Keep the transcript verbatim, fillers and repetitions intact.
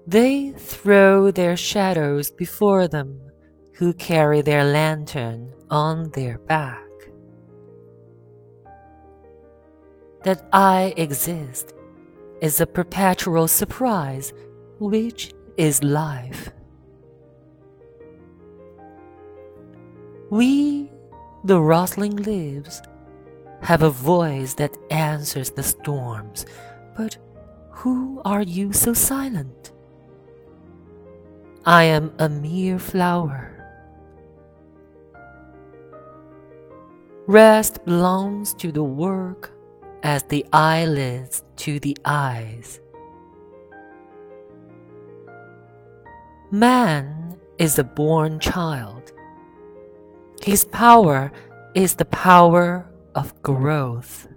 They throw their shadows before them who carry their lantern on their back. That I exist is a perpetual surprise, which is life. We, the rustling leaves, have a voice that answers the storms, but who are you so silent? I am a mere flower. Rest belongs to the work as the eyelids to the eyes. Man is a born child. His power is the power of growth.